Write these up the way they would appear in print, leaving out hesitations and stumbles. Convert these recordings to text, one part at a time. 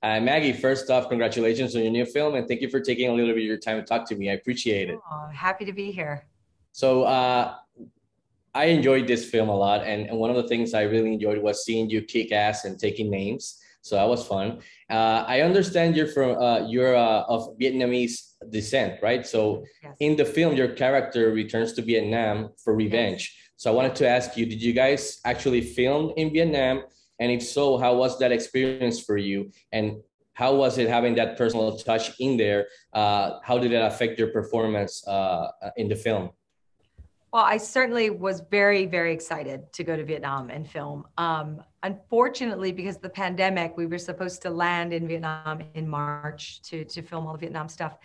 Maggie, first off, congratulations on your new film, and thank you for taking a little bit of your time to talk to me. I appreciate it. Oh, happy to be here. So, I enjoyed this film a lot, and one of the things I really enjoyed was seeing you kick ass and taking names. So that was fun. I understand you're of Vietnamese descent, right? So Yes. in the film, your character returns to Vietnam for Yes. revenge. So I wanted to ask you, did you guys actually film in Vietnam? And if so, how was that experience for you? And how was it having that personal touch in there? How did it affect your performance in the film? Well, I certainly was very, very excited to go to Vietnam and film. Unfortunately, because of the pandemic, we were supposed to land in Vietnam in March to film all the Vietnam stuff.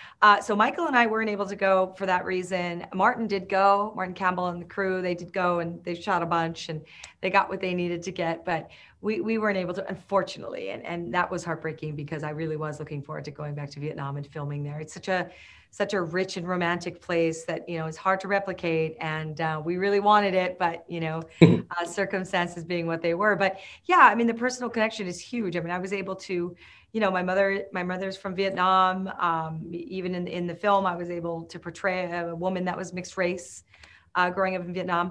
So Michael and I weren't able to go for that reason. Martin did go, Martin Campbell and the crew, they did go and they shot a bunch and they got what they needed to get, but we weren't able to, unfortunately. And that was heartbreaking because I really was looking forward to going back to Vietnam and filming there. It's such a rich and romantic place that, is hard to replicate. And we really wanted it, but, circumstances being what they were. But yeah, I mean, the personal connection is huge. I mean, I was able to, my mother's from Vietnam. Even in the film, I was able to portray a woman that was mixed race, growing up in Vietnam,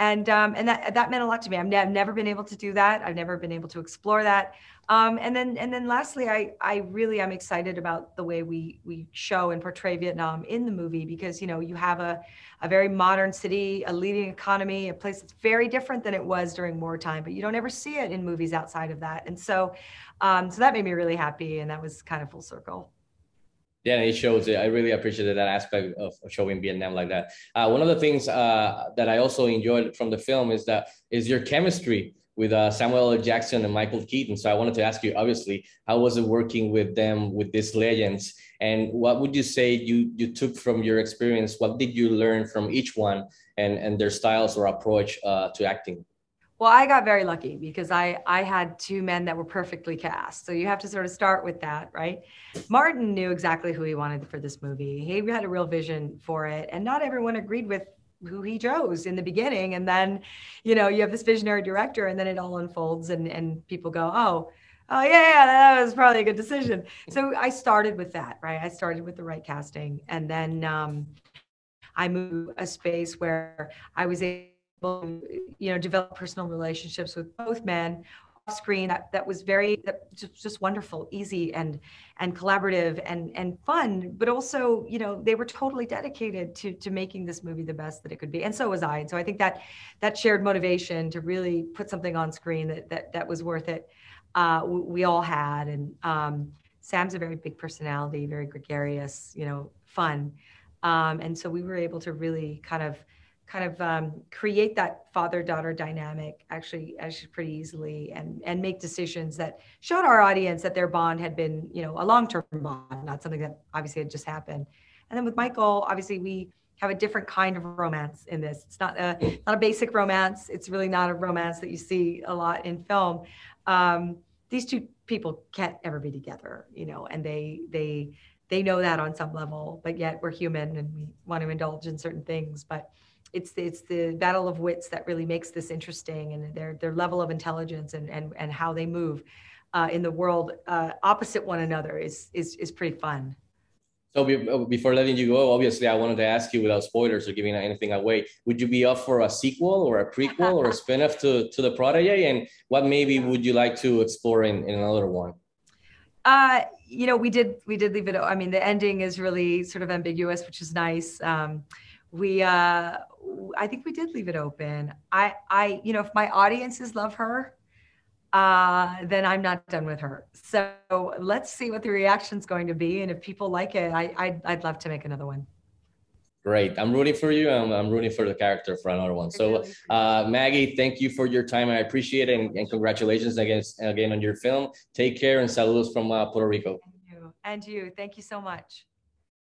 and that meant a lot to me. I've never been able to do that. I've never been able to explore that. And then lastly, I really am excited about the way we show and portray Vietnam in the movie because you have a very modern city, a leading economy, a place that's very different than it was during wartime, but you don't ever see it in movies outside of that. And so that made me really happy, and that was kind of full circle. Yeah, it shows it. I really appreciated that aspect of showing Vietnam like that. One of the things that I also enjoyed from the film is your chemistry with Samuel L. Jackson and Michael Keaton. So I wanted to ask you, obviously, how was it working with them, with these legends, and what would you say you took from your experience? What did you learn from each one, and their styles or approach to acting? Well, I got very lucky because I had two men that were perfectly cast. So you have to sort of start with that, right? Martin knew exactly who he wanted for this movie. He had a real vision for it, and not everyone agreed with who he chose in the beginning. And then, you have this visionary director, and then it all unfolds, and people go, oh yeah, that was probably a good decision. So I started with that, right? I started with the right casting, and then I moved a space where I was able to, develop personal relationships with both men off screen. That was just wonderful, easy and collaborative and fun, but also, they were totally dedicated to making this movie the best that it could be. And so was I. And so I think that shared motivation to really put something on screen that was worth it. We all had. And Sam's a very big personality, very gregarious, fun. And so we were able to really kind of create that father-daughter dynamic actually pretty easily and make decisions that showed our audience that their bond had been, a long-term bond, not something that obviously had just happened. And then with Michael, obviously we have a different kind of romance in this. It's not a basic romance. It's really not a romance that you see a lot in film. These two people can't ever be together, and they know that on some level, but yet we're human and we want to indulge in certain things. But it's the battle of wits that really makes this interesting, and their level of intelligence and how they move in the world opposite one another is pretty fun. So before letting you go, obviously, I wanted to ask you without spoilers or giving anything away, would you be up for a sequel or a prequel or a spin-off to the Prodigy? And what maybe would you like to explore in another one? We did leave it. I mean, the ending is really sort of ambiguous, which is nice. We I think we did leave it open. If my audiences love her, then I'm not done with her. So let's see what the reaction's going to be, and if people like it, I'd love to make another one. Great. I'm rooting for you. I'm rooting for the character for another one. I So, really appreciate it. Maggie, thank you for your time. I appreciate it. And congratulations again on your film. Take care and saludos from Puerto Rico. And you. Thank you so much.